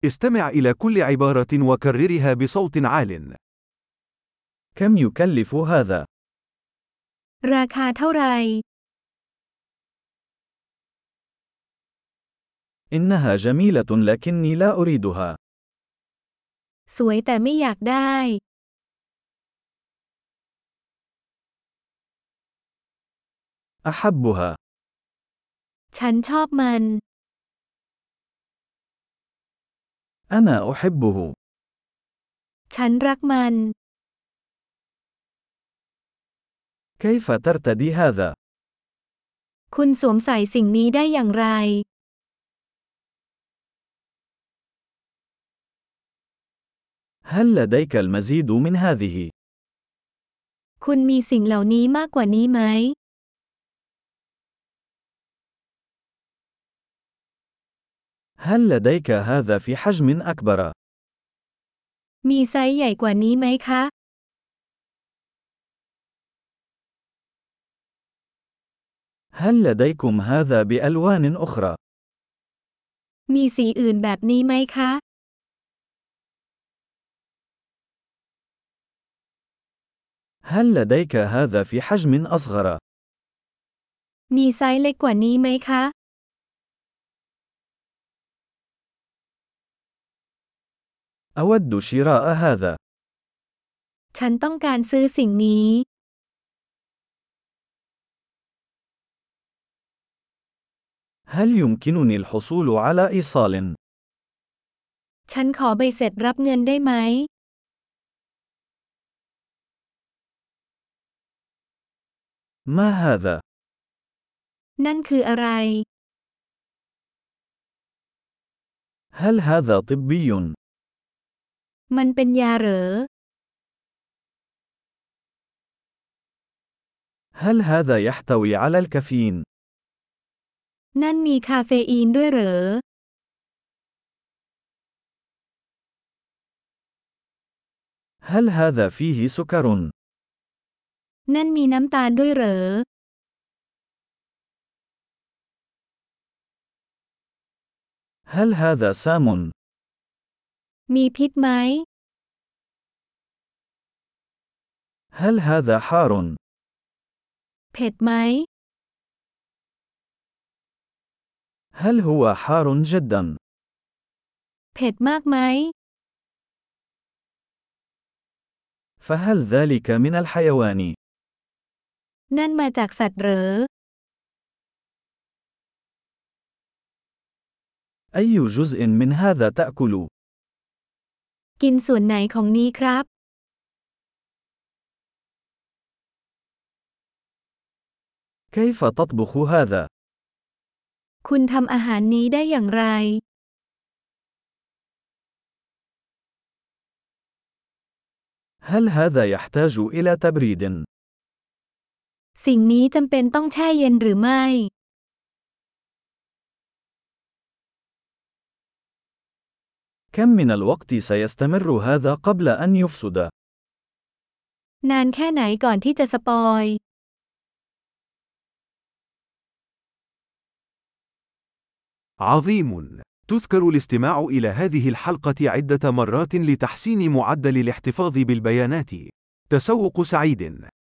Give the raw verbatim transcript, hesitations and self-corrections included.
استمع إلى كل عبارة وكررها بصوت عال. كم يكلف هذا؟ ราคาเท่าไหร่ إنها جميلة لكني لا أريدها. สวยแต่ไม่อยากได้ أحبها. ฉันชอบมัน أنا أحبه. ฉันรักมัน كيف ترتدي هذا؟ คุณสวมใส่สิ่งนี้ได้อย่างไร هل لديك المزيد من هذه؟ คุณมีสิ่งเหล่านี้มากกว่านี้ไหม هل لديك هذا في حجم أكبر؟ มีไซส์ใหญ่กว่านี้ไหมคะ هل لديكم هذا بألوان أخرى؟ มีสีอื่นแบบนี้ไหมคะ هل لديك هذا في حجم أصغر؟ มีไซส์เล็กกว่านี้ไหมคะ أود شراء هذا. ฉันต้องการซื้อสิ่งนี้ هل يمكنني الحصول على إيصال؟ ฉันขอใบเสร็จรับเงินได้ไหม ما هذا؟ นั่นคืออะไร هل هذا طبي؟ มันเป็นยาเหรอ هل هذا يحتوي على الكافيين؟ นั่นมีคาเฟอีนด้วยเหรอ هل هذا فيه سكر؟ นั่นมีน้ำตาลด้วยเหรอ هل هذا سام؟ มีพิษไหม هل هذا حار؟ เผ็ดไหม هل هو حار جدا؟ เผ็ดมากไหม فهل ذلك من الحيوان؟ นั่นมาจากสัตว์เหรอ أي جزء من هذا تأكل؟ กินส่วนไหนของนี้ครับ كيف تطبخ هذا؟ คุณทำอาหารนี้ได้อย่างไร هل هذا يحتاج إلى تبريد؟ สิ่งนี้จำเป็นต้องแช่เย็นหรือไม่ كم من الوقت سيستمر هذا قبل أن يفسد؟ นานแค่ไหนก่อนที่จะสปอย عظيم. تذكر الاستماع إلى هذه الحلقة عدة مرات لتحسين معدل الاحتفاظ بالبيانات. تسوق سعيد.